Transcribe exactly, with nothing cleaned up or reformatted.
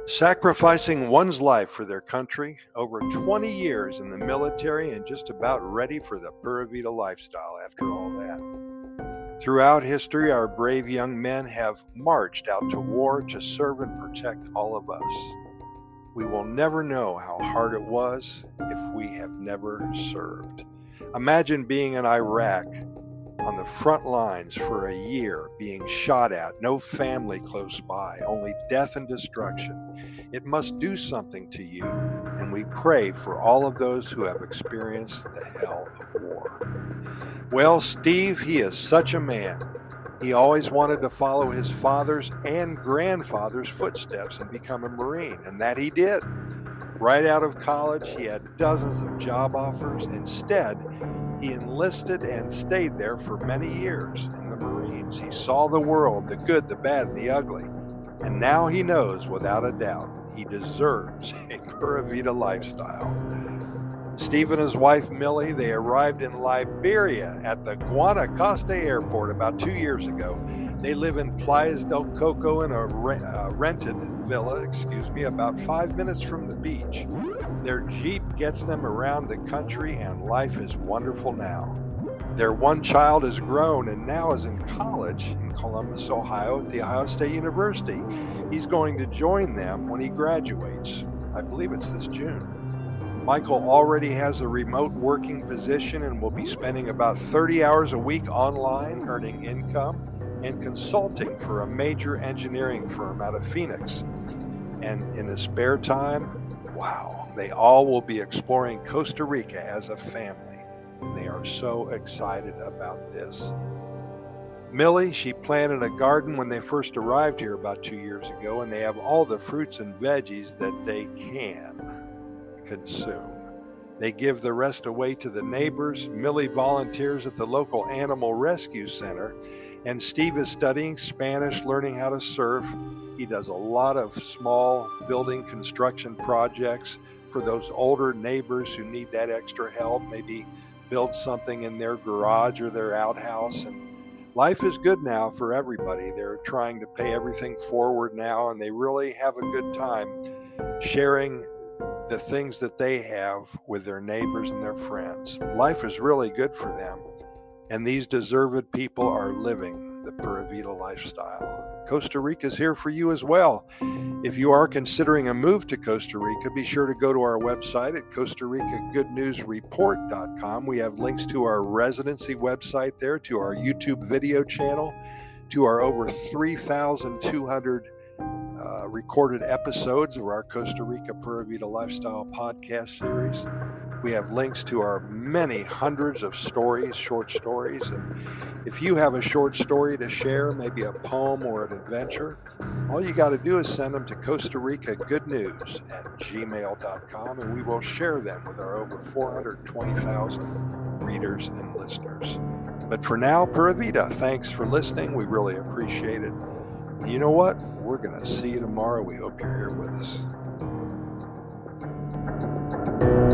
Sacrificing one's life for their country, over twenty years in the military, and just about ready for the Pura Vida lifestyle after all that. Throughout history, our brave young men have marched out to war to serve and protect all of us. We will never know how hard it was if we have never served. Imagine being in Iraq on the front lines for a year, being shot at, no family close by, only death and destruction. It must do something to you, and we pray for all of those who have experienced the hell of war. Well, Steve, he is such a man. He always wanted to follow his father's and grandfather's footsteps and become a Marine, and that he did. Right out of college, he had dozens of job offers. Instead, he enlisted and stayed there for many years in the Marines. He saw the world, the good, the bad, and the ugly. And now he knows without a doubt he deserves a Pura Vida lifestyle. Steve and his wife Millie, they arrived in Liberia at the Guanacaste airport about two years ago. They live in Playas del Coco in a re- uh, rented villa, excuse me, about five minutes from the beach. Their Jeep gets them around the country, and life is wonderful now. Their one child is grown and now is in college in Columbus, Ohio at the Ohio State University. He's going to join them when he graduates. I believe it's this June. Michael already has a remote working position and will be spending about thirty hours a week online, earning income and consulting for a major engineering firm out of Phoenix. And in his spare time, wow, they all will be exploring Costa Rica as a family, and they are so excited about this. Millie, she planted a garden when they first arrived here about two years ago, and they have all the fruits and veggies that they can consume. They give the rest away to the neighbors. Millie volunteers at the local animal rescue center, and Steve is studying Spanish, learning how to surf. He does a lot of small building construction projects for those older neighbors who need that extra help, maybe build something in their garage or their outhouse. And life is good now for everybody. They're trying to pay everything forward now, and they really have a good time sharing the things that they have with their neighbors and their friends. Life is really good for them, and these deserved people are living the Pura Vida lifestyle. Costa Rica is here for you as well. If you are considering a move to Costa Rica, be sure to go to our website at Costa Rica Good News Report dot com. We have links to our residency website there, to our YouTube video channel, to our over three thousand two hundred uh, recorded episodes of our Costa Rica Pura Vida Lifestyle podcast series. We have links to our many hundreds of stories, short stories. And if you have a short story to share, maybe a poem or an adventure, all you got to do is send them to Costa Rica Good News at gmail dot com, and we will share them with our over four hundred twenty thousand readers and listeners. But for now, Pura Vida, thanks for listening. We really appreciate it. And you know what? We're going to see you tomorrow. We hope you're here with us.